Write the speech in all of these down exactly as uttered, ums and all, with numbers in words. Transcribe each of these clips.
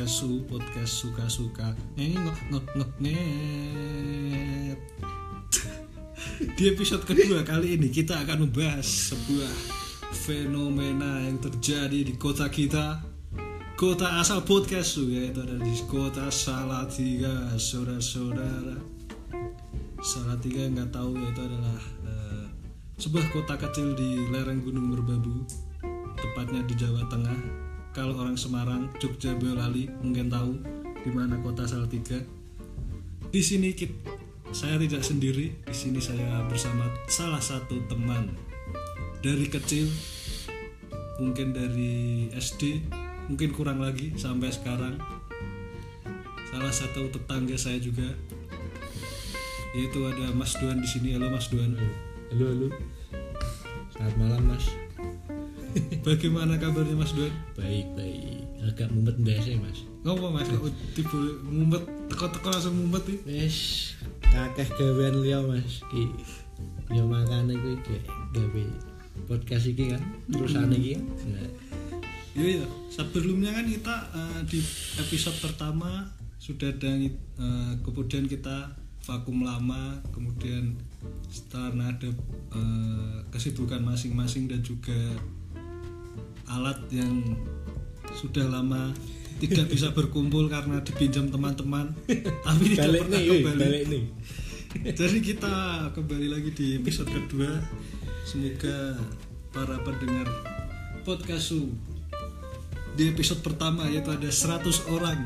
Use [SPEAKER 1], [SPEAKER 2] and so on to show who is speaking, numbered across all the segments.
[SPEAKER 1] podcast su podcast suka-suka ngok ngok ngok nget. Di episode kedua kali ini kita akan membahas sebuah fenomena yang terjadi di kota kita, kota asal podcast su, yaitu ada di kota Salatiga, saudara-saudara. Salatiga yang nggak tahu yaitu adalah uh, sebuah kota kecil di lereng Gunung Merbabu, tepatnya di Jawa Tengah. Kalau orang Semarang, Jogja, Boyolali mungkin tahu di mana kota Salatiga. Di sini kita, saya tidak sendiri. Di sini saya bersama salah satu teman dari kecil, mungkin dari S D, mungkin kurang lagi sampai sekarang. Salah satu tetangga saya juga, yaitu ada Mas Duan di sini. Halo Mas Duan.
[SPEAKER 2] Halo halo. Selamat malam Mas.
[SPEAKER 1] Bagaimana kabarnya Mas Duan?
[SPEAKER 2] Baik baik. Agak mumet biasa Mas.
[SPEAKER 1] Ngopo Mas? Kok tiba mumet, teko-teko langsung mumet iki?
[SPEAKER 2] Wes kakeh gawean liya Mas. Ki yo makane kuwi gek gawe podcast iki kan. Terusane iki kan. Nah.
[SPEAKER 1] Iya iya. Sebelumnya kan kita uh, di episode pertama sudah ada uh, kemudian kita vakum lama, kemudian setelah ada uh, kesibukan masing-masing dan juga alat yang sudah lama tidak bisa berkumpul karena dipinjam teman-teman tapi tidak
[SPEAKER 2] balik
[SPEAKER 1] pernah
[SPEAKER 2] nih,
[SPEAKER 1] kembali.
[SPEAKER 2] Balik nih.
[SPEAKER 1] Jadi kita kembali lagi di episode kedua. Semoga para pendengar podcast Su di episode pertama yaitu ada seratus orang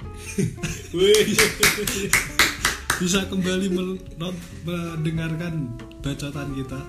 [SPEAKER 1] bisa kembali mendengarkan bacotan kita.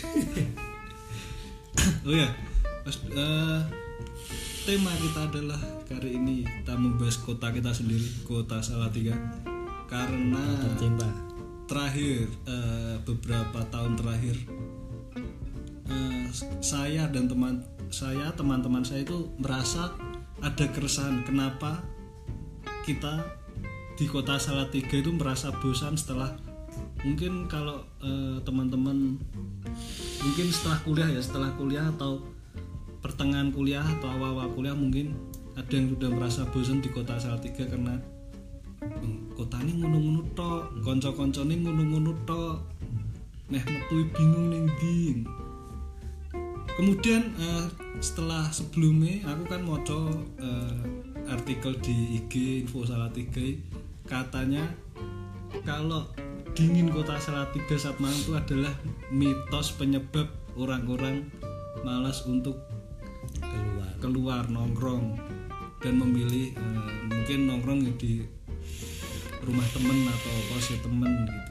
[SPEAKER 1] Oh ya, Mas, uh, tema kita adalah kali ini kita membahas kota kita sendiri, kota Salatiga. Karena
[SPEAKER 2] tercinta.
[SPEAKER 1] Terakhir uh, beberapa tahun terakhir uh, saya dan teman saya teman-teman saya itu merasa ada keresahan kenapa kita di kota Salatiga itu merasa bosan setelah mungkin kalau uh, teman-teman mungkin setelah kuliah ya setelah kuliah atau pertengahan kuliah atau awal-awal kuliah mungkin ada yang sudah merasa bosan di kota Salatiga karena hmm, kota ini ngono-ngono tok, kanca-kancane ngono-ngono tok, neh metu bingung ning ndi. Kemudian uh, setelah sebelumnya aku kan moco uh, artikel di I G Info Salatiga, katanya kalau dingin kota Salatiga saat malam itu adalah mitos penyebab orang-orang malas untuk
[SPEAKER 2] Keluar.
[SPEAKER 1] keluar nongkrong dan memilih uh, mungkin nongkrong di rumah temen atau kos temen gitu.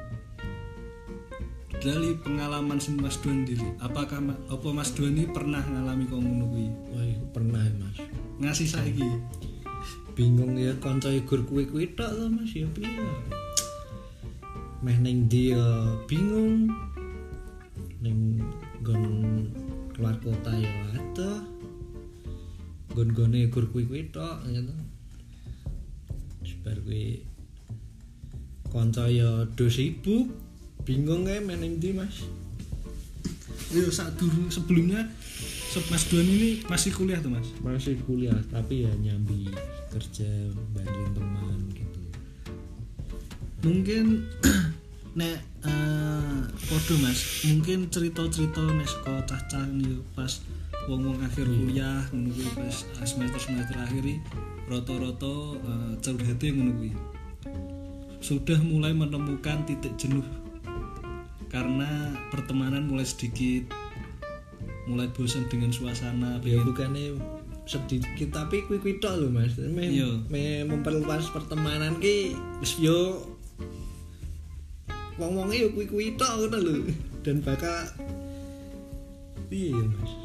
[SPEAKER 1] Dari pengalaman Mas Duan sendiri, apakah apa Mas Duan ini pernah ngalami kok ngono kuwi?
[SPEAKER 2] Wah, pernah Mas.
[SPEAKER 1] Ngasih saiki.
[SPEAKER 2] Bingung ya kanca igur kuwi-kuwi tok to Mas ya piye. Meh ning ndi ya bingung. Ning nggon keluar kota ya adoh. Gon-gone igur kuwi-kuwi tok gitu. Sebar kuwi kanca ya do sibuk. Bingung kae meh ning ndi Mas.
[SPEAKER 1] Yo sak durung sebelumnya Mas Duan ini masih kuliah tuh Mas?
[SPEAKER 2] Masih kuliah tapi ya nyambi kerja bantuin teman gitu.
[SPEAKER 1] Mungkin nek uh, podo Mas, mungkin cerita-cerita nek saka cah-cah yo pas wong-wong akhir kuliah ngono kuwi pas semester-semester akhir iki rata-rata uh, curhate ngono kuwi. Sudah mulai menemukan titik jenuh karena pertemanan mulai sedikit, mulai bosan dengan suasana.
[SPEAKER 2] Ya bukannya sedikit tapi kuwi-kuwi tok lho Mas. Me, me memperluas pertemanan ki wis yo wong-wonge yo kuwi-kuwi tok ngono lho. Dan bakal piye ya Mas?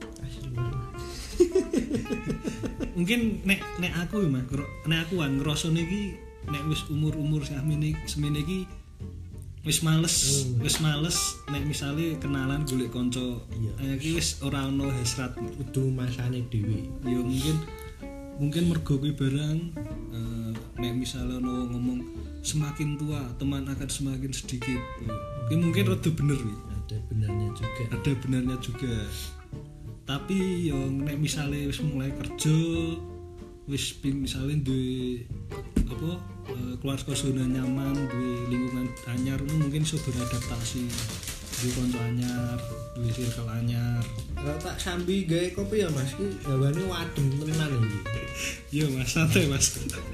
[SPEAKER 1] Mungkin nek nek aku Mas, nek aku kan ngrasane iki nek wis umur-umur semene semene iki wis males, hmm. wis males nek misale kenalan golek kanca. Iya. Iki wis ora ono hasrat,
[SPEAKER 2] kudu masane dhewe.
[SPEAKER 1] Ya mungkin mungkin mergo kuwi barang uh, nek misale ono ngomong semakin tua teman akan semakin sedikit. Iki mungkin rada bener kuwi.
[SPEAKER 2] Ada benarnya juga.
[SPEAKER 1] Ada benarnya juga. Tapi yo nek misale wis mulai kerja, wis ping misalnya duwe apa eh, keluarga zona nyaman, duwe lingkungan anyar mungkin iso beradaptasi. Duwe kanca anyar, duwe circle anyar.
[SPEAKER 2] Kalau tak sambi gawe kopi ya Mas, ki hawane wadem tenan iki.
[SPEAKER 1] Iya Mas, santai Mas.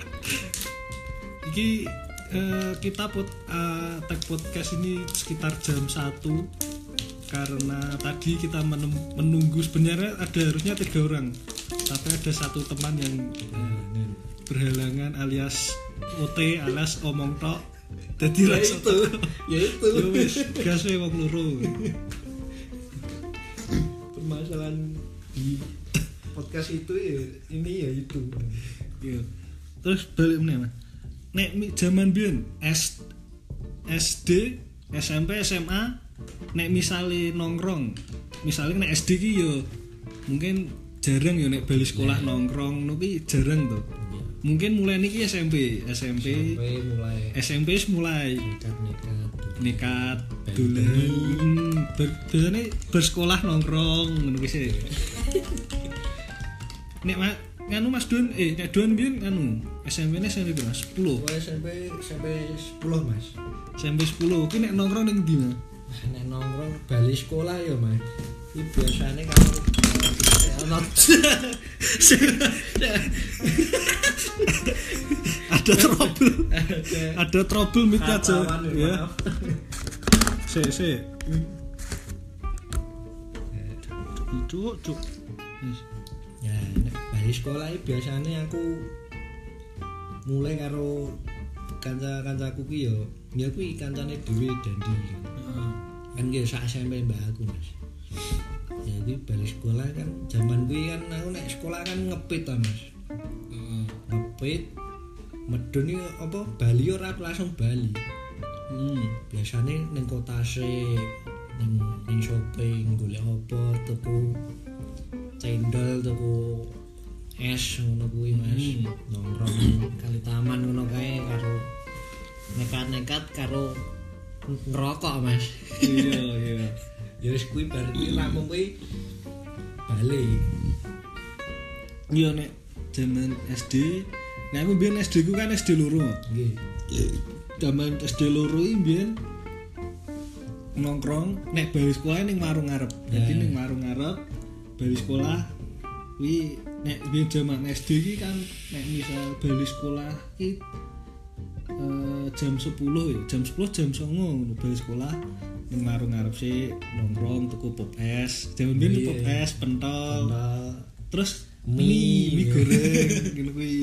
[SPEAKER 1] Iki eh, kita pot uh, tag podcast ini sekitar jam satu karena tadi kita menem- menunggu sebenarnya ada harusnya tiga orang tapi ada satu teman yang eh, berhalangan alias O T alias omong tok jadi
[SPEAKER 2] Ya
[SPEAKER 1] langsung
[SPEAKER 2] itu, ya itu.
[SPEAKER 1] ya wis gas e wong loro.
[SPEAKER 2] Permasalahan di podcast itu ya ini ya itu.
[SPEAKER 1] Iya. Terus balik meneh Mas. Nek mi- zaman biyen S SD, S M P, S M A nek misale nongkrong, misale nek S D ki yo mungkin jarang yo nek bali sekolah nongkrong tapi jarang tuh. Mungkin mulai niki S M P, S M P,
[SPEAKER 2] Sampai mulai
[SPEAKER 1] S M P wis mulai
[SPEAKER 2] nekat-nekat.
[SPEAKER 1] nekat dolan ber- biasanya bersekolah nongkrong ngono ki sih. Nek ma- nganu Mas Don eh nek Don biyen nganu S M P-ne S M P Mas sepuluh.
[SPEAKER 2] Mulai S M P sampai sepuluh Mas.
[SPEAKER 1] S M P sepuluh ki nek nongkrong ning ndi Mas?
[SPEAKER 2] Nek nongkrong bali sekolah ya Mas. Iki biasane kalau ono
[SPEAKER 1] Ada trouble. Ada trouble mic aja. Ya. Sik sik. Cuk cuk. Wis.
[SPEAKER 2] Ya, nek bali sekolah iki biasane aku mulai karo kanca-kancaku ki yo, ya kuwi kancane dhewe Dandi.
[SPEAKER 1] Heeh.
[SPEAKER 2] Kan nggih sak S M P mbah aku Mas. Jadi bali sekolah kan zaman kuwi kan aku nek sekolah kan ngepit ta Mas.
[SPEAKER 1] Heeh.
[SPEAKER 2] Ngepit medun iki apa Bali ora langsung Bali.
[SPEAKER 1] Hmm.
[SPEAKER 2] Biasane ning kota sik ning ning shopping golek apa tuku cendol tuku es ngono kuwi Mas.
[SPEAKER 1] Hmm.
[SPEAKER 2] Nongkrong kali taman ngono kae karo nekat-nekat karo ngerokok Mas.
[SPEAKER 1] Iya iya.
[SPEAKER 2] Ya wis kuwi bar kuwi rampung kuwi bali.
[SPEAKER 1] Iya nek zaman S D, nek aku biyen S D ku kan S D loro.
[SPEAKER 2] Nggih.
[SPEAKER 1] Zaman S D loro iki biyen nongkrong nek bali sekolah ning warung ngarep. Dadi
[SPEAKER 2] Ya.
[SPEAKER 1] ning warung ngarep bali sekolah kuwi nek biyen zaman S D iki kan nek misal bali sekolah iki eh, jam sepuluh ya, jam sepuluh jam sembilan ngono bali sekolah ning warung ngarep sih nongkrong tuku pop es. Zaman biyen
[SPEAKER 2] Iya.
[SPEAKER 1] pop es pentol.
[SPEAKER 2] Nah,
[SPEAKER 1] Terus
[SPEAKER 2] Mie.
[SPEAKER 1] mie, mie goreng ngono kuwi.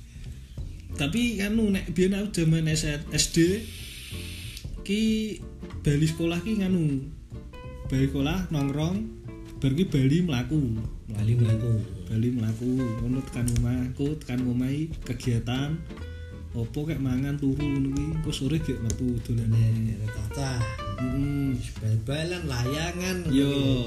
[SPEAKER 1] Tapi kan nek biyen aku jaman S D ki bali sekolah ki nganu. Bali sekolah nongkrong bar ki bali mlaku.
[SPEAKER 2] bali mlaku.
[SPEAKER 1] Bali mlaku ngono tekan omahku, tekan omahi kegiatan opo kayak mangan turu ngono kuwi. Engko sore gek metu dolane.
[SPEAKER 2] Nek tata
[SPEAKER 1] Heeh.
[SPEAKER 2] bal-balan layangan.
[SPEAKER 1] Yo.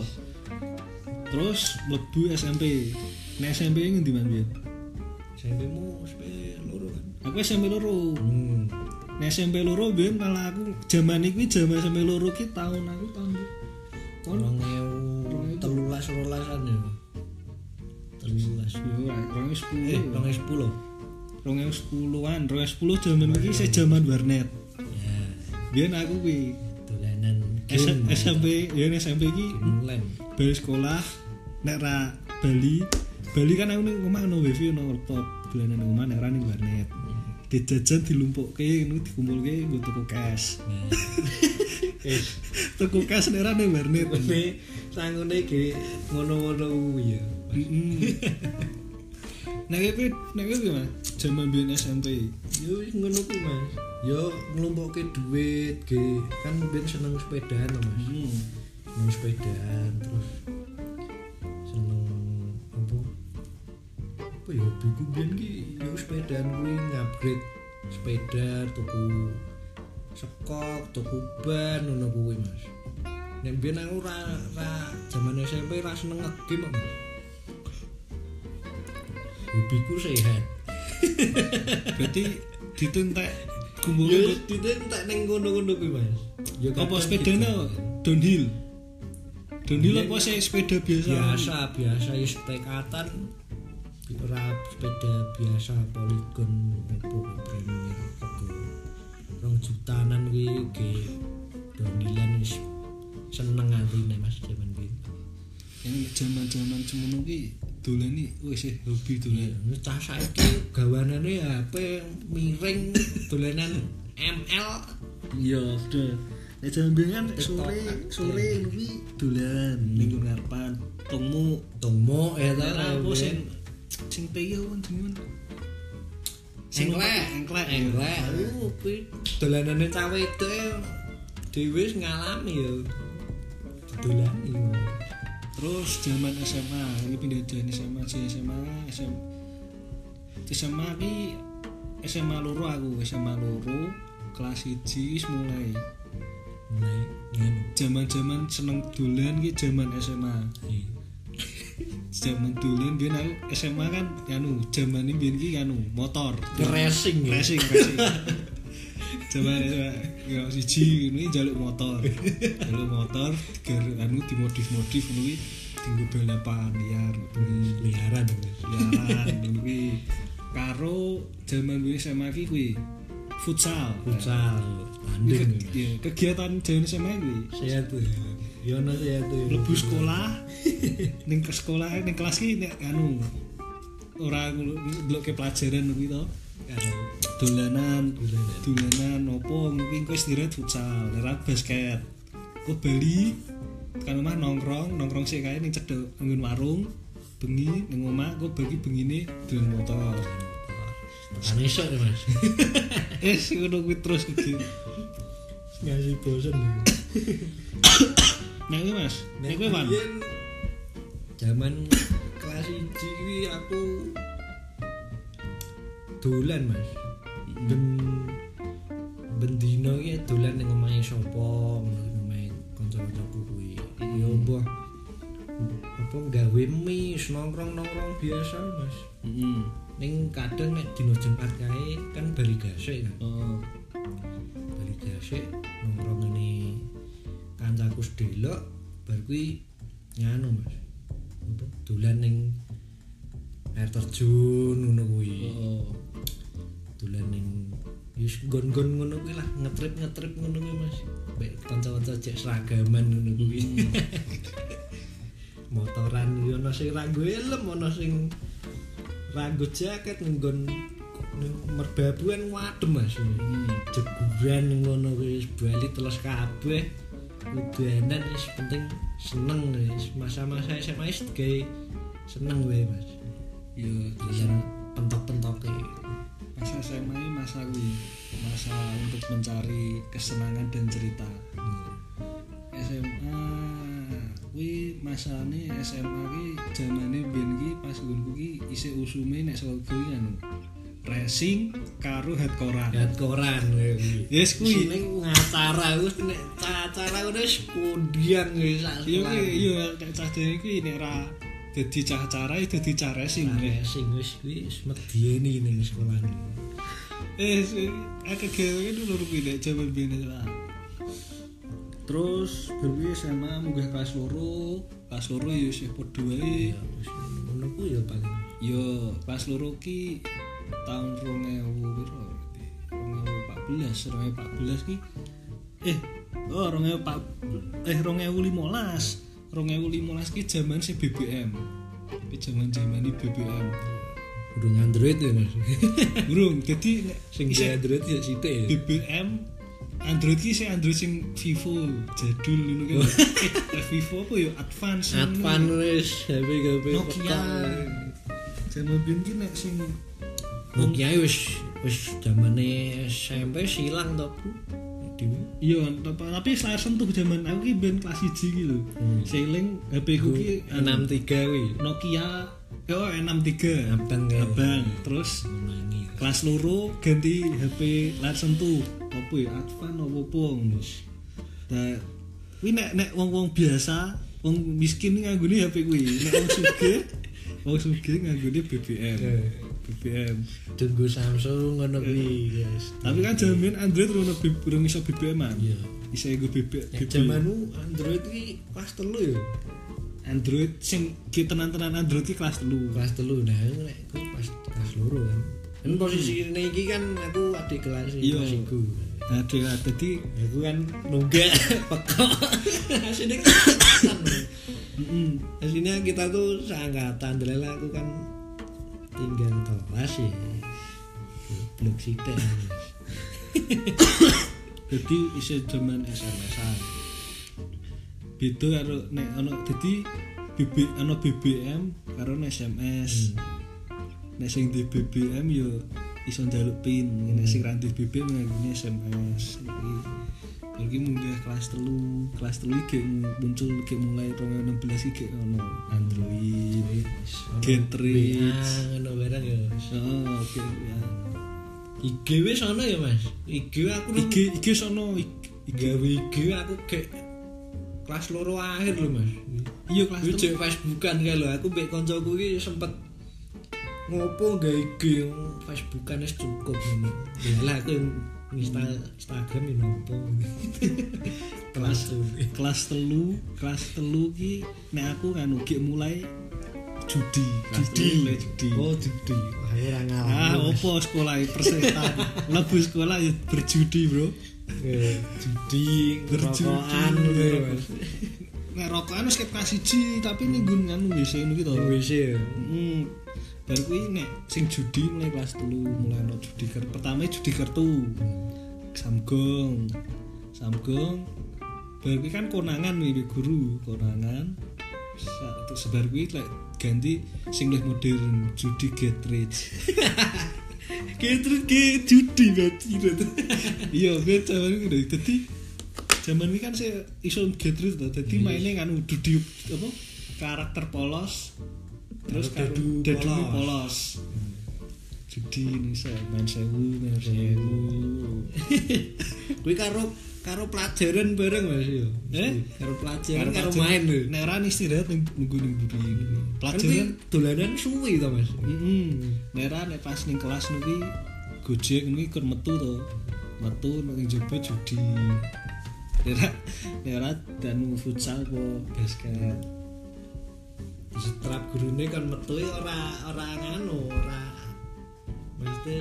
[SPEAKER 1] Terus mlebu S M P. Nek S M P ngendi man biyen?
[SPEAKER 2] S M P-mu S M P loro kan.
[SPEAKER 1] Aku S M P loro.
[SPEAKER 2] Hmm.
[SPEAKER 1] Nek S M P loro biyen malah aku jaman iki jaman S M P loro ki tahun aku tahun tahun
[SPEAKER 2] Rong ewu telulas rolasan ya. Telulas.
[SPEAKER 1] yo rong ewu sepuluh.
[SPEAKER 2] Eh, rong ewu sepuluh.
[SPEAKER 1] rong ewu sepuluhan, rong ewu sepuluh jaman iki isih jaman warnet.
[SPEAKER 2] Ya,
[SPEAKER 1] Biyen aku kuwi
[SPEAKER 2] dolanan
[SPEAKER 1] S-
[SPEAKER 2] game.
[SPEAKER 1] SMP, ya S M P iki
[SPEAKER 2] Online.
[SPEAKER 1] bali sekolah nek ra Bali. Bali kan aku ning omah ono wifi ono laptop, dolanan ning omah nek ra ning warnet. Dijajan dilumpukke ngono dikumpulke nggo tuku cash.
[SPEAKER 2] Eh,
[SPEAKER 1] Tuku cash nek ra ning warnet.
[SPEAKER 2] tapi sangune ge ngono-ngono kuwi ya.
[SPEAKER 1] Heeh. Nek iki nek iki Mas, jaman biyen S M P.
[SPEAKER 2] Yo wis ngono kuwi Mas. Yo nglumpukke duit ge kan ben seneng sepedaan to, Mas.
[SPEAKER 1] Hmm.
[SPEAKER 2] Seneng sepedaan terus seneng apa? Apa ya hobiku biyen ki yo sepedaan kuwi ngupgrade sepeda tuku sekok tuku ban ngono kuwi Mas. Nek biyen aku ra ra jaman S M P ra seneng nge-game kok, Mas. Hobiku sehat.
[SPEAKER 1] Berarti ditentek
[SPEAKER 2] Ya
[SPEAKER 1] kumpul
[SPEAKER 2] ditentek ning ngono-ngono kuwi Mas. Ya
[SPEAKER 1] apa
[SPEAKER 2] kadang
[SPEAKER 1] sepedane
[SPEAKER 2] gitu.
[SPEAKER 1] downhill. Downhill
[SPEAKER 2] Iya,
[SPEAKER 1] apa sih sepeda biasa?
[SPEAKER 2] biasa biasa ya tekatan ora sepeda biasa Polygon opo Premier rego rong jutanan kuwi ge donilan wis seneng atine Mas jaman kuwi.
[SPEAKER 1] Yang zaman-zaman semono ki dolan iki wis hobi dolan.
[SPEAKER 2] Wis cah saiki gawanane H P miring dolanan M L.
[SPEAKER 1] Iya, bener. Nek jaman kan sore sore kuwi dolan ning ngarepan tungmu
[SPEAKER 2] Tungmu ya ta
[SPEAKER 1] apa sing sing peyo kan jenenge.
[SPEAKER 2] Engklek,
[SPEAKER 1] engklek,
[SPEAKER 2] engklek. Aku kuwi dolanane cah wedok dhewe wis ngalami ya. Dolani.
[SPEAKER 1] Terus zaman S M A, ini pindah dari S M A ke S M A, S M A. S M A ki S M A loro aku, S M A loro kelas siji wis mulai.
[SPEAKER 2] Mulai ngene.
[SPEAKER 1] Zaman-zaman seneng dolan ki zaman S M A. Zaman dolan biyen aku S M A kan anu, zaman iki biyen ki anu motor,
[SPEAKER 2] racing,
[SPEAKER 1] racing, racing. Zaman ya siji ini jaluk motor. Jaluk motor gar anu dimodif-modif kuwi dienggo balapan liar,
[SPEAKER 2] liaran,
[SPEAKER 1] liaran kuwi. Karo zaman biyen S M A ki kuwi futsal.
[SPEAKER 2] Futsal. Tanding.
[SPEAKER 1] Ya, kegiatan zaman S M A kuwi.
[SPEAKER 2] Sehat tuh. Ya ono sehat tuh.
[SPEAKER 1] Lebu sekolah. Ning ke sekolah ning kelas ki nek anu ora ndelok ke pelajaran kuwi to. Dolanan, dolanan opo mungkin kowe istirahat futsal, ora basket. Kok Bali kan omah nongkrong, nongkrong sik kae ning cedhek nggon warung. Bengi ning omah kok bagi bengine dolan motor.
[SPEAKER 2] Kan iso ya, Mas.
[SPEAKER 1] Eh, sing ngono kuwi terus iki.
[SPEAKER 2] Ngasih bosen.
[SPEAKER 1] Nek kuwi Mas, nek kowe wan.
[SPEAKER 2] Zaman kelas siji kuwi aku dolan Mas. Ben ben dino iki dolan ning omahe sapa, ning omahe kanca-kancaku kuwi. Ya mbah apa gawe mie nongkrong-nongkrong biasa Mas.
[SPEAKER 1] Heeh.
[SPEAKER 2] Ning kadang nek dino Jumat kae kan bali gasik kan.
[SPEAKER 1] Oh.
[SPEAKER 2] Bali gasik nongkrong ngene kancaku sedelok bar kuwi nganu Mas. Apa dolan ning air terjun ngono kuwi.
[SPEAKER 1] Oh.
[SPEAKER 2] Dolan ning wis gon-gon ngono kuwi lah, ngetrip-ngetrip ngono kuwi Mas. Mbek kanca-kanca cek seragaman ngono kuwi. Motoran yo ono sing ra nggo helm, ono sing ra nggo jaket nggon merbabuan wadem Mas.
[SPEAKER 1] Hmm.
[SPEAKER 2] Jeguran ngono wis bali teles kabeh. Udanan wis penting seneng wis masa-masa S M A wis gawe seneng wae Mas.
[SPEAKER 1] Yo,
[SPEAKER 2] Dolan pentok-pentoke.
[SPEAKER 1] masa S M A ini masa kuwi, masa untuk mencari kesenangan dan cerita. S M A kuwi masane S M A ki jamane biyen ki pas nggonku ki isih usume nek sekolah kuwi anu racing karo hardcore-an.
[SPEAKER 2] Hardcore-an kuwi.
[SPEAKER 1] Yes kuwi
[SPEAKER 2] ning ngacara wis nek acara wis kundian wis sak.
[SPEAKER 1] Iya kuwi iya nek cah dene kuwi nek ra dadi cah acara ya dadi cah racing.
[SPEAKER 2] Racing wis kuwi wis medeni ning sekolah.
[SPEAKER 1] Eh aku gawe dulu kuwi nek jaman biyen lah. Terus berwi S M A munggah kelas loro, kelas loro ya isih padha wae.
[SPEAKER 2] Ngono ku ya paling.
[SPEAKER 1] Yo, kelas loro ki tahun dua ribu piro? dua ribu empat belas, dua ribu empat belas ki eh oh dua ribu empat eh dua ribu lima belas. dua ribu lima belas ki zaman si B B M. Ki zaman-zaman B B M.
[SPEAKER 2] Urung Android ya Mas.
[SPEAKER 1] Urung, dadi
[SPEAKER 2] Sing Android ya sithik ya.
[SPEAKER 1] B B M Android ki sing Android sing Vivo jadul ngono kan. Eh Vivo apa ya advance.
[SPEAKER 2] Advance wis H P-H P
[SPEAKER 1] Nokia. Zaman biyen ki nek sing
[SPEAKER 2] Nokia wis wis zamane S M P silang to, Bu.
[SPEAKER 1] Iya, tapi layar sentuh zaman aku ki ben kelas siji ki lho. Seiling H P ku ki
[SPEAKER 2] enam tiga kuwi.
[SPEAKER 1] Nokia oh enam tiga
[SPEAKER 2] Abang ya.
[SPEAKER 1] Abang. Terus
[SPEAKER 2] menangi.
[SPEAKER 1] Kelas loro ganti H P layar sentuh. Apa ya Advan opo-opo ngono. Nah, kuwi nek nek wong-wong biasa, wong miskin nganggone H P kuwi. Nek wong sugih, wong sugih nganggone B B M. B B M.
[SPEAKER 2] Tunggu Samsung ngono kuwi, guys.
[SPEAKER 1] Tapi kan jaman Android ora urung iso B B M-an.
[SPEAKER 2] Iya.
[SPEAKER 1] Bisa nggo B B M.
[SPEAKER 2] Jamanmu Android ki kelas telu ya.
[SPEAKER 1] Android sing ki tenan-tenan Android ki kelas telu.
[SPEAKER 2] Kelas telu nah nek aku pas kelas loro kan. Kan posisi ini iki kan aku adik kelas kelas iku.
[SPEAKER 1] Adik dadi
[SPEAKER 2] aku kan nunggak pekok. Asine kan. Heeh. Asine kita tuh seangkatan delala aku kan tinggal kelas ya. Blok sithik.
[SPEAKER 1] Dadi isih jaman S M S-an. Beda karo nek ana dadi B B ana B B M karo S M S. Hmm. Nek sing di B B M yo iso njaluk pin, nek sing ra di B B M ngene S M S. Iki iki munggah kelas telu, kelas telu iki muncul iki mulai dua ribu enam belas iki ono Android, Getrix,
[SPEAKER 2] ngono barang ya.
[SPEAKER 1] Heeh, oke ya.
[SPEAKER 2] I G wis ono ya, Mas. I G aku
[SPEAKER 1] I G I G sono I G
[SPEAKER 2] I G aku kayak kelas loro akhir lho Mas.
[SPEAKER 1] Iya kelas
[SPEAKER 2] telu. Cek Facebookan kae lho. Aku mbek kancaku iki sempet ngopo gawe I G Facebookan wis cukup ngono. Yalah aku install Instagram yo ngopo. Kelas
[SPEAKER 1] kelas telu, kelas telu ki nek aku kan ugi mulai judi,
[SPEAKER 2] judi,
[SPEAKER 1] judi.
[SPEAKER 2] Oh, judi. Wah, ora ngalami.
[SPEAKER 1] Ah, opo sekolah persetan. Lebu sekolah ya berjudi, Bro.
[SPEAKER 2] Judi, rokokan lho, Mas.
[SPEAKER 1] Nek rokokan wis kelas siji, tapi ning nggon nganu W C niku to.
[SPEAKER 2] W C.
[SPEAKER 1] Heeh. Bar kuwi nek sing judi mulai kelas telu, mulai ono judi kartu. Pertama judi kartu. Samgong. Samgong. Bar kuwi kan konangan wi guru, konangan. Satu sebar kuwi lek ganti sing luwih modern judi Getrix. Getrix ge judi berarti. Iya, ben jaman iki dadi jaman iki kan saya iso Getrix to. Dadi maine kan judi apa? Karakter polos. Terus dadu polos. Judi ini saya main sewu, main sewu.
[SPEAKER 2] Kuwi karo karo pelajaran bareng Mas yo.
[SPEAKER 1] Eh,
[SPEAKER 2] karo pelajaran karo main lho.
[SPEAKER 1] Nek ora istirahat nunggu ning buri ini. Pelajaran
[SPEAKER 2] dolanan suwi to Mas.
[SPEAKER 1] Heeh. Nek ora nek pas ning kelas niki Gojek niki kur metu to. Metu ning njaba judi. Nek ora nek ora dan futsal apa basket.
[SPEAKER 2] Setrap gurune kan metu ora ora nganu, ora mesti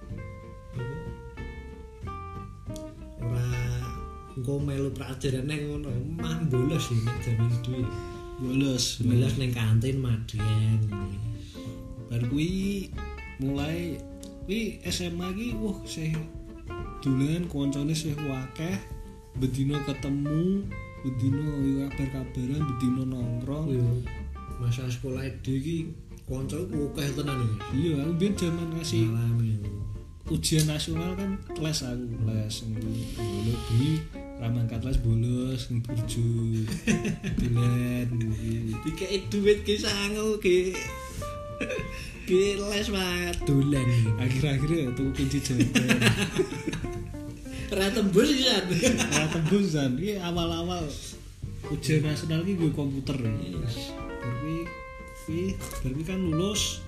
[SPEAKER 2] ora engko melu pelajaran nang ngono, mah bolos iki nek jaman dhewe.
[SPEAKER 1] Bolos,
[SPEAKER 2] bolos ning kantin madhen.
[SPEAKER 1] Bar kuwi mulai kuwi S M A iki wah sih dolen koncone sih akeh, bedino ketemu, bedino yo kabar-kabaran, bedino nongkrong.
[SPEAKER 2] Masa sekolah D iki kanca akeh tenan iki.
[SPEAKER 1] Iya, aku ben jaman ngasih
[SPEAKER 2] alami.
[SPEAKER 1] Ujian nasional kan kelas aku, kelas bolos di ramangkat kelas bolos ning burjo. Dolen iki.
[SPEAKER 2] Dikeki duit ki sangu ki. Ki les banget dolen.
[SPEAKER 1] Akhir-akhir tuku kunci jajan.
[SPEAKER 2] Ora tembus kan.
[SPEAKER 1] Ora tembus kan. Iki awal-awal ujian nasional iki gue komputer. Tapi kuwi berarti kan lulus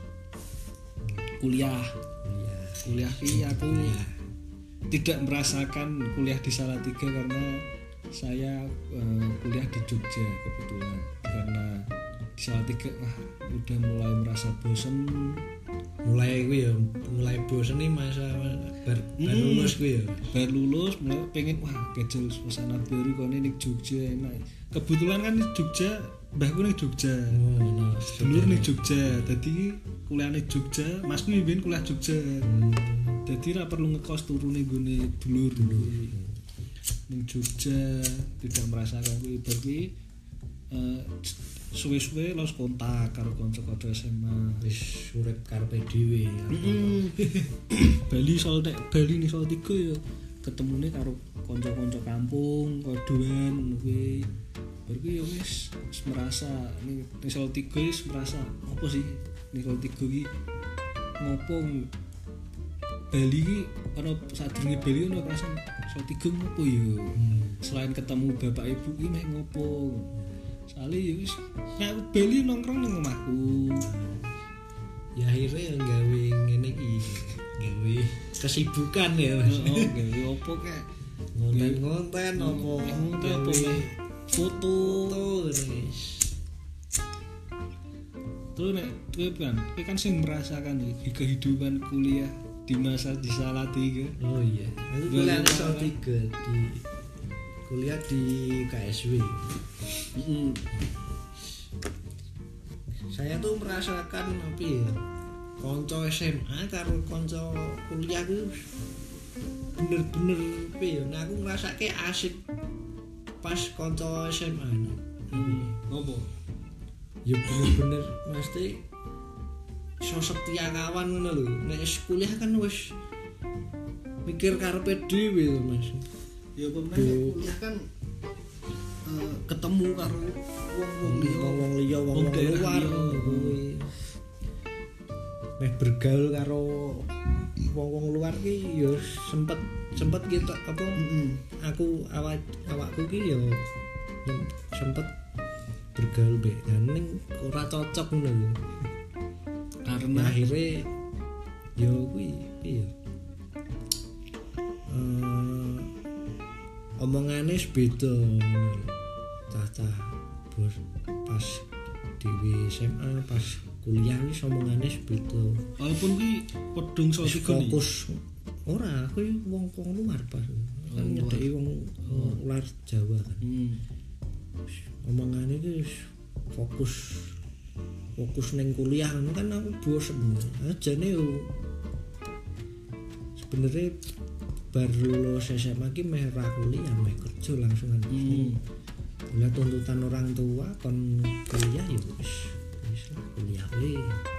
[SPEAKER 1] kuliah. Kuliah ki aku kuliah. Tidak merasakan kuliah di Salatiga karena saya uh, kuliah di Jogja kebetulan. Karena di Salatiga wah udah mulai merasa bosen.
[SPEAKER 2] Mulai kuwi ya, mulai bosen nih masa bar,
[SPEAKER 1] hmm,
[SPEAKER 2] bar lulus kuwi ya.
[SPEAKER 1] Bar lulus mulai pengen wah kecil suasana baru kok ning Jogja enak. Kebetulan kan di Jogja mbahku ning Jogja. Oh, nah, dulur ning Jogja. Dadi kuliah ning Jogja, masku mbiyen kuliah Jogja. Hmm. Dadi ra perlu ngekos turu ning gone dulur-dulur. Ning Jogja tidak merasakan kuwi bar kuwi eh suwe-suwe los kontak karo kanca-kanca S M A.
[SPEAKER 2] Wis urip karepe dhewe.
[SPEAKER 1] Heeh. Bali soal nek Bali ning Salatiga ya ketemune karo kanca-kanca kampung, kodoan kuwi. Berarti ya wis merasa ning Salatiga wis merasa apa sih ning Salatiga iki ngopo Bali iki ana sadurunge Bali ana perasaan Salatiga ngopo ya hmm. Selain ketemu bapak ibu iki mek ngopo soalnya ya wis nek Bali nongkrong ning omahku
[SPEAKER 2] ya akhirnya yang gawe ngene iki gawe kesibukan ya Mas.
[SPEAKER 1] Oh gawe opo kek
[SPEAKER 2] ngonten-ngonten opo
[SPEAKER 1] ngonten opo foto
[SPEAKER 2] guys
[SPEAKER 1] Terus nek kowe kan, kowe kan sing merasakan iki kehidupan kuliah di masa di Salatiga.
[SPEAKER 2] Oh iya, aku kuliah di Salatiga di kuliah di K S W.
[SPEAKER 1] Heeh.
[SPEAKER 2] Saya tuh merasakan apa ya? Konco S M A karo konco kuliah ku bener-bener apa ya? Nah aku ngrasake asik pas konco S M A.
[SPEAKER 1] Hmm, ngopo?
[SPEAKER 2] Ya bener-bener mesti sosok setia kawan ngono lho. Nek kuliah kan wis mikir karepe dhewe lho Mas.
[SPEAKER 1] Ya apa meneh kuliah kan uh, ketemu karo wong-wong liya,
[SPEAKER 2] wong-wong liya, wong-wong luar kuwi. Meh bergaul karo wong-wong luar ki ya sempet sempet gitu apa
[SPEAKER 1] heeh.
[SPEAKER 2] Aku awak awakku ki ya sempet bergaul be ning ora cocok ngono lho.
[SPEAKER 1] Karena
[SPEAKER 2] akhirnya ya kuwi piye eh omongane beda cacah bos pas di S M A pas kuliah wis omongane beda
[SPEAKER 1] walaupun kuwi pedung Salatiga
[SPEAKER 2] fokus ora aku wong-wong luar pas kan nyedeki wong luar Jawa kan
[SPEAKER 1] hmm.
[SPEAKER 2] Omongane iki fokus fokus neng kuliah kan aku bosen ajane yo sebenarnya baru lulus S M A ki meh ra kuliah meh kerja langsung kan
[SPEAKER 1] hmm.
[SPEAKER 2] Lah tuntutan orang tua kon kuliah ya wis wis lah kuliah we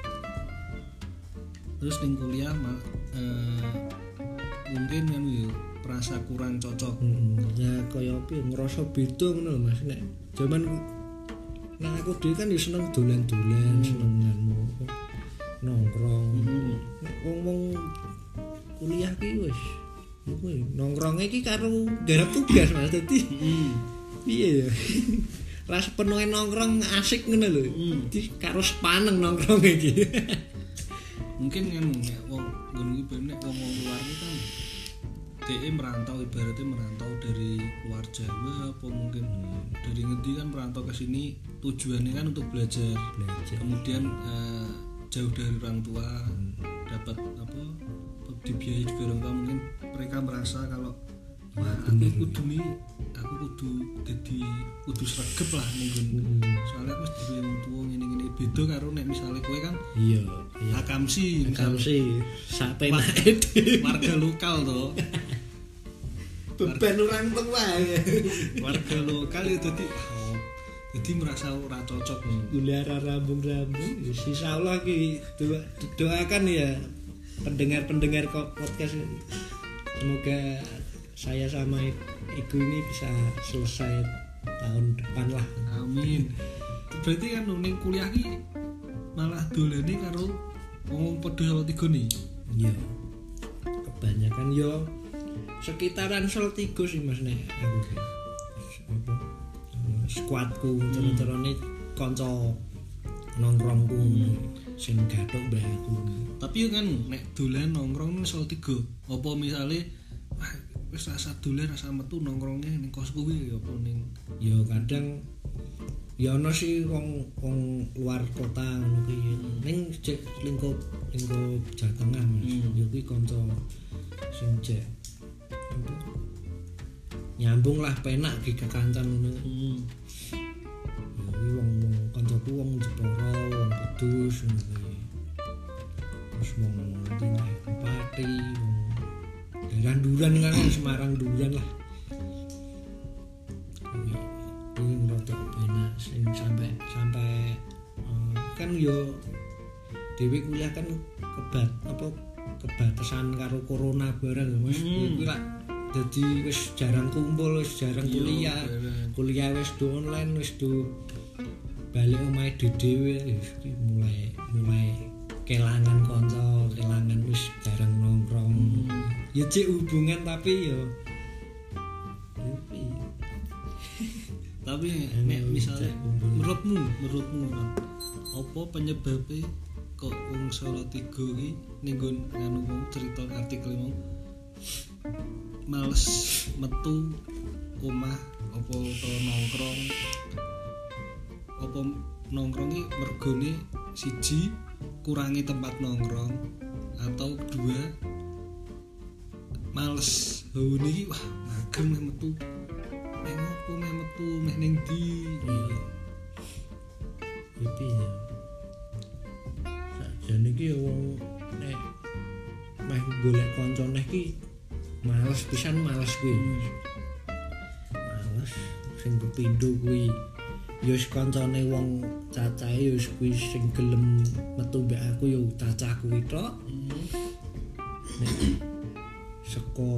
[SPEAKER 1] terus ning kuliah mak eh, mungkin kan yo merasa kurang cocok.
[SPEAKER 2] Heeh. Ya kaya apa ngerasa beda ngono lho Mas nek jaman nah aku dhewe kan ya seneng dolan-dolan, hmm. seneng nganu nongkrong.
[SPEAKER 1] Hmm.
[SPEAKER 2] Nek wong-wong kuliah ki wis kuwi nongkronge iki karo garap tugas Mas dadi.
[SPEAKER 1] Heeh.
[SPEAKER 2] Piye ya? Ras penuhe nongkrong asik ngono lho. Di karo sepaneng nongkrong iki.
[SPEAKER 1] Mungkin kan nek wong ngono iki ben nek wong-wong luar iki kan dhek merantau ibaratnya merantau dari luar Jawa apa mungkin hmm. dari ngendi kan merantau ke sini tujuannya kan untuk belajar,
[SPEAKER 2] belajar. Kemudian
[SPEAKER 1] uh, jauh dari orang tua hmm. dapat apa dibiayai juga orang tua mungkin mereka merasa kalau wah aku kudu nih aku kudu jadi kudu sregep lah nih hmm. soalnya aku mesti yang tua ngene-ngene beda karo nek misalnya kowe kan
[SPEAKER 2] iya iya
[SPEAKER 1] akamsi
[SPEAKER 2] akamsi sapenake
[SPEAKER 1] warga lokal to
[SPEAKER 2] beban orang tua ya.
[SPEAKER 1] Warga lokal ya jadi oh, jadi merasa ora cocok
[SPEAKER 2] kuliah rambung-rambung ya insyaallah ki doa, doakan ya pendengar-pendengar podcast semoga saya sama ibu ini bisa selesai tahun depan lah
[SPEAKER 1] amin berarti kan ning kuliah ki malah dolane karo wong padha Salatiga nih
[SPEAKER 2] iya kebanyakan yo sekitaran Salatiga sih Mas nek aku apa skuadku terus-terusane kanca nongkrongku sing gathuk mbah aku
[SPEAKER 1] tapi kan nek dolan nongkrong nang Salatiga apa misale wah wis rasa dolan rasa metu nongkrongnya ning kosku kuwi apa ning
[SPEAKER 2] ya kadang ya ana sih wong wong luar kota ngono kuwi ning cek lingkup lingkup Jawa Tengah Mas ya kuwi kanca sing cek nyambung lah penak di kekancan ngono. Hmm. Ya iki wong-wong kancaku wong Jepara, wong Kudus ngono kuwi. Terus wong Dina Pati, wong daerah Duran kan Semarang Duran lah. Kuwi kuwi rada penak sing sampai sampai uh, kan yo dhewe kuliah kan kebat apa kebatasan karo corona bareng Mas. Hmm. Kuwi lak dadi wis jarang kumpul, wis jarang kuliah. Yo, kuliah wis do online, wis do balik omahe dhewe wis mulai mulai kelangan kanca, kelangan wis jarang nongkrong. Hmm. Ya cek hubungan tapi yo
[SPEAKER 1] tapi nek misalnya menurutmu menurutmu kan apa penyebabnya kok wong Salatiga iki ning nggon nganu wong cerita artikel mau males metu omah apa utawa nongkrong apa nongkrong iki mergone siji kurangi tempat nongkrong atau kedua males bau niki wah mager meh metu meh ngopo meh metu meh ning ndi
[SPEAKER 2] iki ya sakjane iki wong nek meh golek kancane iki males pisan males kuwi males sing kepindho kuwi ya wis kancane wong cacahe ya wis kuwi sing gelem metu mbek aku ya cacah kuwi tok nek saka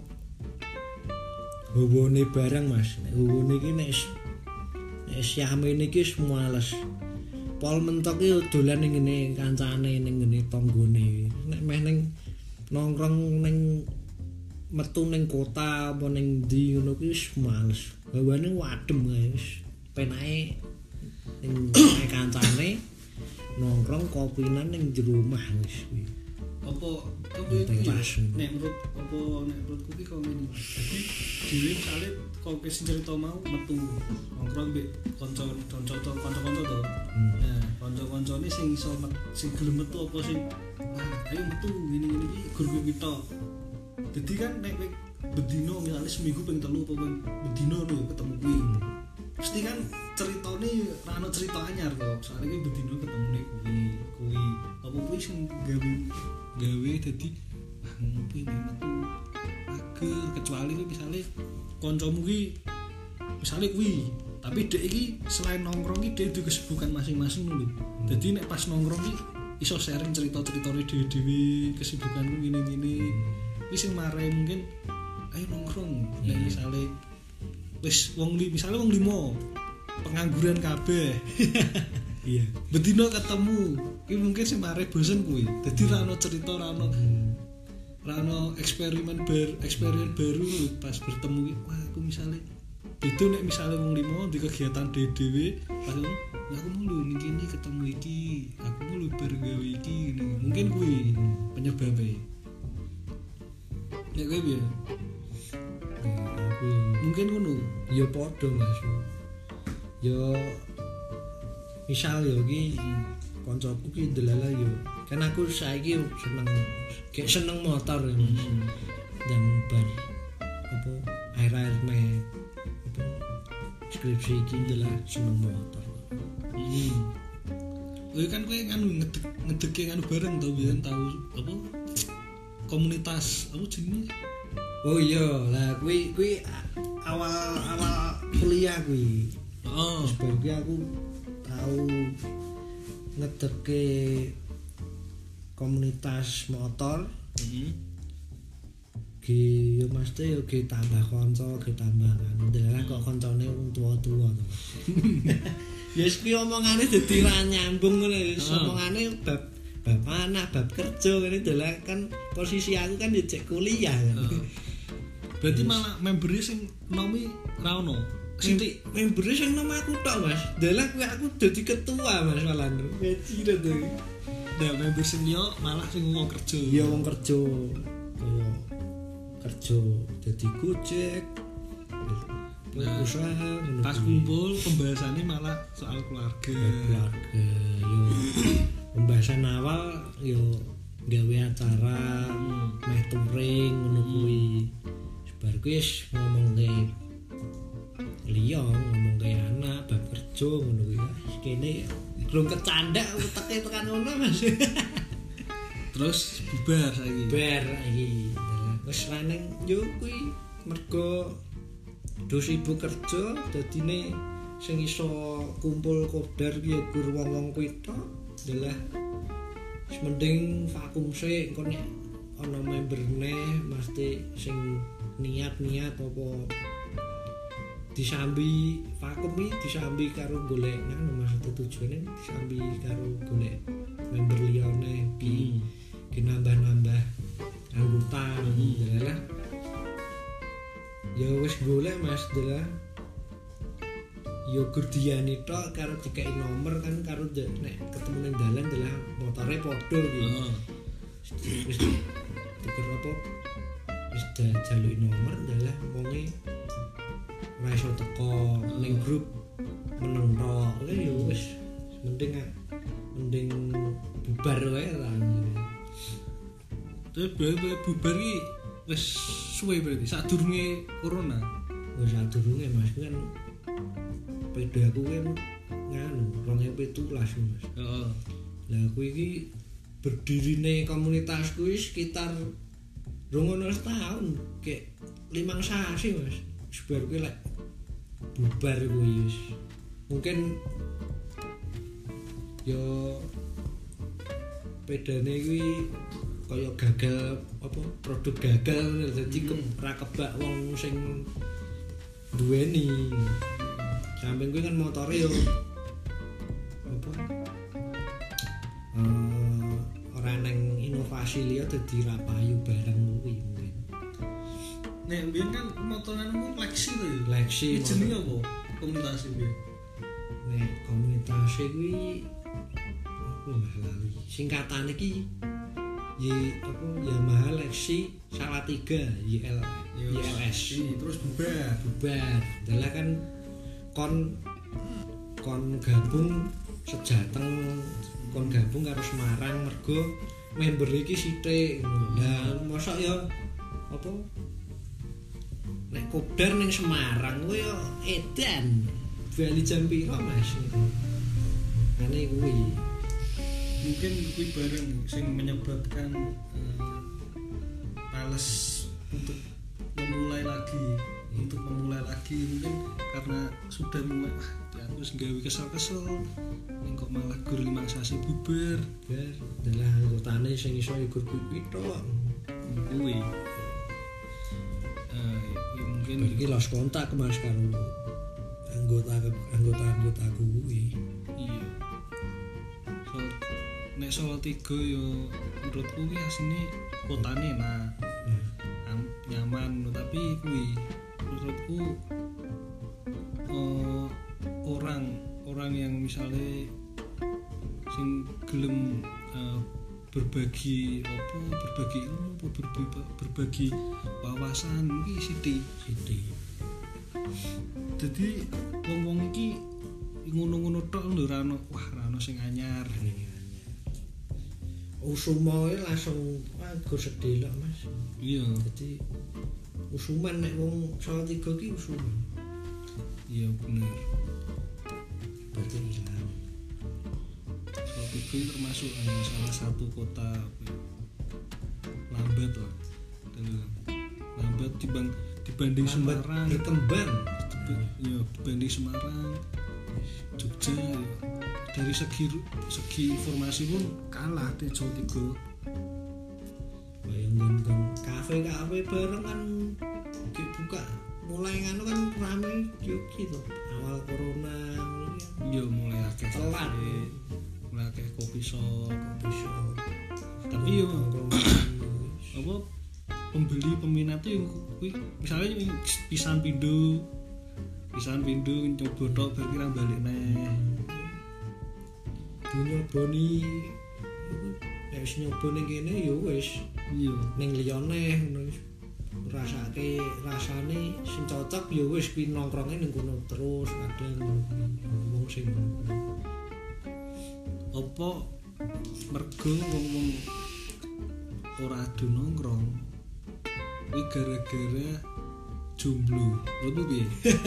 [SPEAKER 2] hubune barang Mas nek hubune iki nek nek siamene iki wis males pol mentok iki dolan ning ngene kancane ning ngene tanggane nek meh ning nongkrong ning metu ning kota apa ning ndi ngono kuwi wis males hawane wadem kae wis penake ning kancane nongkrong kopinan ning jero omah wis kuwi
[SPEAKER 1] apa apa iki nek menurut apa nek menurutku iki kok ngene dadi dhewe misale kok wis cerita mau metu nongkrong mbek kanca-kanca to kanca-kanca to nah kanca-kancane sing iso sing gelem metu apa sing ah ayo metu ngene-ngene iki gur-gur kita dadi kan nek bedino misale seminggu ping telu apa ping bedino lho ketemu kuwi mesti kan ceritane ra ono cerita anyar to soalnya iki bedino ketemune kuwi kuwi apa kuwi sing gawe gawe dadi ah ngopi metu ager kecuali kuwi misale kancamu ki misale kuwi tapi dek iki selain nongkrong iki dek duwe kesibukan masing-masing lho dadi nek pas nongkrong iki iso sharing cerita-ceritane dhewe-dhewe kesibukanku ngene-ngene wis sing mare mungkin ayo nongkrong nek misale wis wong li misale wong limo pengangguran kabeh iya bedino ketemu iki mungkin sing mare bosen kuwi dadi ra ono cerita ra ono ra ono eksperimen bar eksperimen baru pas bertemu iki wah aku misale beda nek misale wong limo di kegiatan dhewe pas aku mulu ning kene ketemu iki aku mulu bareng gawe iki mungkin kuwi penyebabnya nek kowe piye mungkin ngono
[SPEAKER 2] ya padha Mas ya misal ya iki kancaku ki delala ya kan aku saiki seneng kayak seneng motor ya Mas dan bar apa air-air meh apa skripsi iki delala seneng motor
[SPEAKER 1] hmm kowe kan kowe kan ngedek ngedeke kan bareng to biyen tahu apa komunitas apa jenenge
[SPEAKER 2] oh iya lah kuwi kuwi awal awal kuliah kuwi
[SPEAKER 1] oh
[SPEAKER 2] sebagai aku tahu ngedeke komunitas motor
[SPEAKER 1] heeh
[SPEAKER 2] ki yo mesti yo ki tambah kanca ki tambah kan ndelok kok kancane wong tua-tua to ya wis ki omongane dadi ra nyambung ngono wis omongane bab bab anak bab kerja ngene ndelok kan posisi aku kan yo cek kuliah kan
[SPEAKER 1] berarti malah memberi sing nomi ra ono
[SPEAKER 2] sithik memberi sing nom aku tok Mas ndelok kuwi aku dadi ketua Mas malah gaji to
[SPEAKER 1] nah member sing liya malah sing wong kerja
[SPEAKER 2] ya wong kerja kaya kerja dadi gojek nah, usaha
[SPEAKER 1] pas kumpul pembahasannya malah soal keluarga
[SPEAKER 2] keluarga yo pembahasan awal yo gawe acara hmm. meh touring ngono kuwi bar kuwi wis ngomongke liya ngomongke anak bab kerja ngono kuwi kene belum kecandak uteke tekan ngono Mas
[SPEAKER 1] terus bubar saiki
[SPEAKER 2] bubar iki wis laneng yo kuwi mergo do sibuk kerja dadine sing iso kumpul kodar ki ya gur wong-wong kuwi tok adalah wis mending vakum sik engko nek ana memberne mesti sing niat-niat apa disambi vakum iki disambi karo golek ngono maksud tujuane disambi karo golek member liyane ki ki nambah-nambah anggota adalah ya wis golek Mas adalah yo gurdiani tok karo dikai nomor kan karo nek ketemu ning dalan adalah motore padha iki heeh wis tuker apa wis jaluki nomor adalah wonge ora iso teko ning grup meneng tok yo wis mending mending bubar wae ta.
[SPEAKER 1] Terus berarti bubar iki wis suwe berarti sadurunge corona.
[SPEAKER 2] Wis sadurunge Mas kan beda aku kan nganu dua ribu tujuh belas Mas.
[SPEAKER 1] Heeh.
[SPEAKER 2] Lah aku iki berdirine komunitasku wis sekitar rong tahun kayak limang sasi Mas. Sebar kuwi lek bubar kuwi wis. Mungkin yo pedane kuwi kaya gagal apa produk gagal dadi hmm. ora kebak wong sing duweni. Samping kuwi kan motore yo apa uh, ora nang inovasi liya dadi ra payu barang kuwi mungkin.
[SPEAKER 1] Nek mbiyen kan motoranmu Lexi to ya.
[SPEAKER 2] Lexi.
[SPEAKER 1] Jenenge apa? Komunitas iki.
[SPEAKER 2] Nek komunitas kuwi apa Mas lali. Singkatane iki Y apa Yamaha Lexi Salatiga Y L Y L S.
[SPEAKER 1] Terus bubar.
[SPEAKER 2] Bubar. Dalah kan kon kon gabung sejateng kon gabung karo Semarang mergo member iki sithik. Lah mosok ya apa nek kopdar ning Semarang kuwi yo edan. Bali jam piro Mas? Ngene kuwi.
[SPEAKER 1] Mungkin kuwi bareng sing menyebabkan uh, males untuk memulai lagi untuk memulai lagi mungkin karena sudah mulai wah aku gawe kesel-kesel ning kok malah gur limang sasi bubar
[SPEAKER 2] bar dalah anggotane sing iso ikur kuwi tok
[SPEAKER 1] kuwi eh ya mungkin
[SPEAKER 2] iki los kontak Mas karo anggota anggota-anggota kuwi
[SPEAKER 1] iya so nek Solo tiga yo menurutku ki asine kotane nah hmm. nyaman tapi kuwi menurutku uh, orang orang yang misalnya sing gelem uh, berbagi apa berbagi ilmu apa berbagi, berbagi wawasan iki sithik
[SPEAKER 2] sithik
[SPEAKER 1] dadi wong-wong iki ngono-ngono tok lho ora ono wah ora ono sing anyar
[SPEAKER 2] usumae langsung aku sedih lho Mas
[SPEAKER 1] iya
[SPEAKER 2] dadi usuman nek wong Salatiga ki usuman.
[SPEAKER 1] Iya bener.
[SPEAKER 2] Berarti hilang.
[SPEAKER 1] Salatiga termasuk eh, salah satu kota lambat lah. Lambat dibanding dibanding
[SPEAKER 2] lambat
[SPEAKER 1] Semarang.
[SPEAKER 2] Berkembang.
[SPEAKER 1] Iya dibanding Semarang, Jogja. Ya. Dari segi segi informasi pun kalah di Salatiga.
[SPEAKER 2] Bayang-bayang kafe-kafe bareng kan dibuka mulai ngono kan rame Yogi to awal corona
[SPEAKER 1] iya mulai akeh
[SPEAKER 2] telat
[SPEAKER 1] mulai akeh kopi shop
[SPEAKER 2] kopi shop
[SPEAKER 1] tapi yo apa pembeli peminat itu kuwi misalnya pisan pindho pisan pindho nyoba tok bar kira balik neh
[SPEAKER 2] dinyoboni nek wis nyoba ning kene ya wis
[SPEAKER 1] iya
[SPEAKER 2] ning liyane ngono wis rasake rasane sing cocok ya wis kuwi nongkronge ning kono terus kadang ngomong sing
[SPEAKER 1] apa mergo wong-wong ora adu nongkrong kuwi gara-gara jomblo lho piye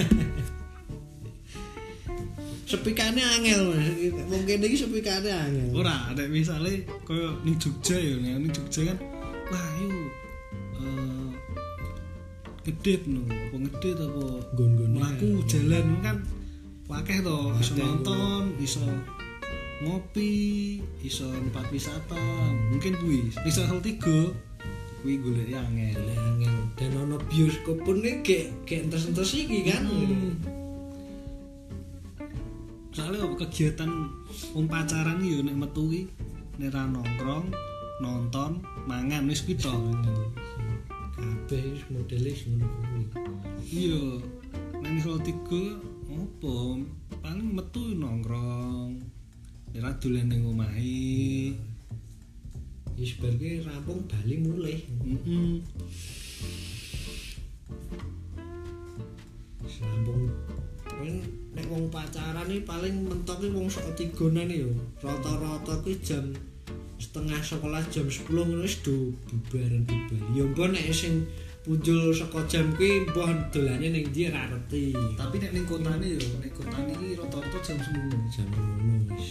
[SPEAKER 2] sepikane angel Mas mungkin iki sepikane angel
[SPEAKER 1] ora nek misale koyo ning Jogja ya ning Jogja kan wah ayo eh ngedit no apa ngedit apa
[SPEAKER 2] gon-gon
[SPEAKER 1] mlaku jalan kan akeh to iso nonton iso ngopi iso tempat wisata mungkin kuwi iso hal tiga kuwi golek angel
[SPEAKER 2] angel dan ono bioskop pun iki gek entes-entes iki kan
[SPEAKER 1] hmm. Soalnya kegiatan wong pacaran yo nek metu ki nek ra nongkrong, nonton, mangan wis kuwi to.
[SPEAKER 2] Kabeh wis modele ngono kuwi.
[SPEAKER 1] Iya. Nek iso tiga opo? Paling metu nongkrong. Nek ra dolan ning omahe.
[SPEAKER 2] Wis bar ki rampung bali mulih.
[SPEAKER 1] Heeh.
[SPEAKER 2] Rampung Kan nek wong pacaran iki paling mentok iki wong sok tigonan yo. Rata-rata kuwi jam setengah sekolah jam sepuluh ngono wis do bubaran bubar. Ya mbon nek sing punjul saka jam kuwi mbah dolane ning ndi ra ngerti.
[SPEAKER 1] Tapi nek ning kotane yo, nek kotane iki rata-rata jam sepuluh.
[SPEAKER 2] Jam ngono wis.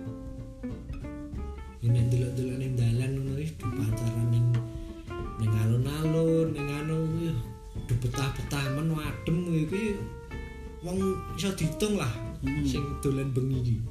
[SPEAKER 2] Ini delok-delok ning dalan ngono wis do pacaran ning ning alun-alun, ning anu kuwi do betah-betah men adem kuwi wong iso diitung lah hmm. sing dolan bengi iki.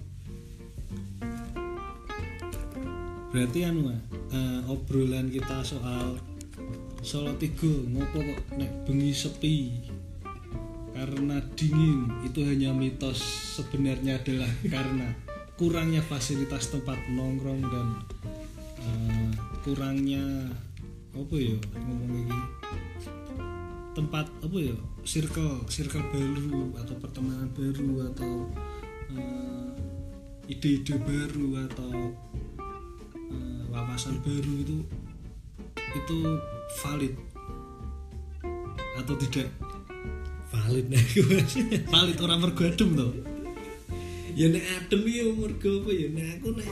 [SPEAKER 1] Berarti anu uh, obrolan kita soal Solo Tigo ngopo kok nek bengi sepi karena dingin itu hanya mitos, sebenarnya adalah karena kurangnya fasilitas tempat nongkrong dan uh, kurangnya apa ya ngomong iki tempat apa ya circle circle baru atau pertemanan baru atau uh, ide-ide baru atau uh, wawasan baru itu itu valid atau tidak
[SPEAKER 2] valid nek
[SPEAKER 1] valid orang mergo adem to
[SPEAKER 2] ya nek adem ya mergo apa ya nek aku nek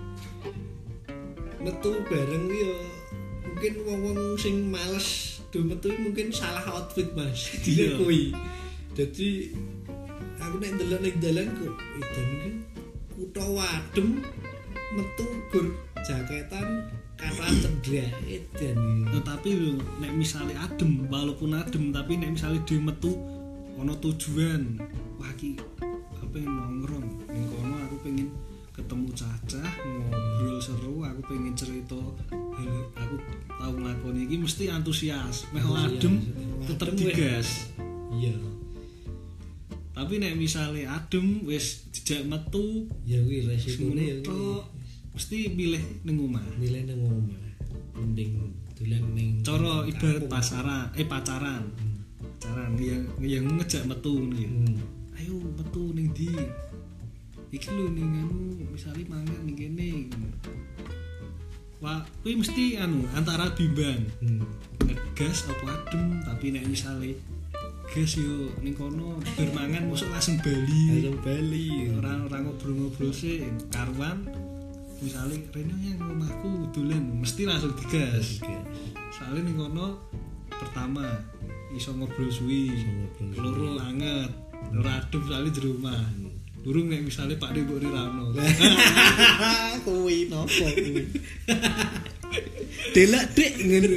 [SPEAKER 2] metu bareng ya mungkin wong-wong sing males do metu mungkin salah outfit Mas. Dia kuwi. Dadi aku nek ndelok ning dalan kok edan iki kutha wadem metu gur jaketan kata cendrak edan.
[SPEAKER 1] Tetapi lho nek misale adem, walaupun adem tapi nek misale dhewe metu ana tujuan. Wah iki aku pengen nongkrong ning kono, aku pengen ketemu cacah, ngobrol seru, aku pengen cerita aku tahu nglakoni iki mesti antusias. Mek adem tetep digas.
[SPEAKER 2] Iya.
[SPEAKER 1] Tapi nek misale adem wis dijak metu,
[SPEAKER 2] ya kuwi resikone ya
[SPEAKER 1] mesti milih ning omah.
[SPEAKER 2] Milih ning omah. Mending dolan ning
[SPEAKER 1] cara ibarat pasaran, eh pacaran. Hmm. Pacaran yang yang ngejak metu nih. Hmm. Ayo metu ning ndi? Iki lho ning anu misale mangan ning kene. Wah, kuwi mesti anu antara bimbang. Hmm. Ngegas apa adem, tapi nek misale gas yo ning kono bermangan mosok langsung bali.
[SPEAKER 2] Langsung bali.
[SPEAKER 1] Ora ora ngobrol-ngobrol sih karuan. Misale rene yang omahku dolan mesti langsung digas. Soale ning kono pertama iso ngobrol suwi, loro anget, ora adem soalé jero omah. Durung nek misale Pak Dek mbok rirano.
[SPEAKER 2] Kuwi nopo kuwi? Delak Dik ngono.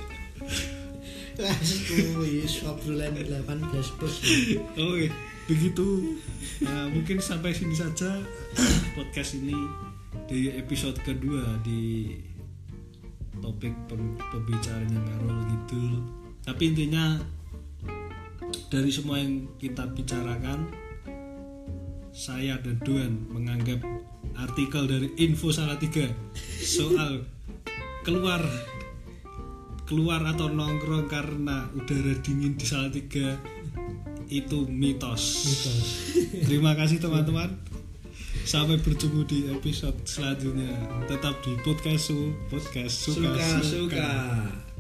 [SPEAKER 2] Lah kuwi obrolan delapan belas plus.
[SPEAKER 1] Oke, begitu. Nah, mungkin sampai sini saja podcast ini di episode kedua di topik pembicaraan yang ngarol ngidul. Tapi intinya dari semua yang kita bicarakan, saya dan Duan menganggap artikel dari Info Salatiga soal keluar keluar atau nongkrong karena udara dingin di Salatiga itu mitos. Mitos. Terima kasih teman-teman. Sampai bertemu di episode selanjutnya. Tetap di podcast su podcast suka suka. suka.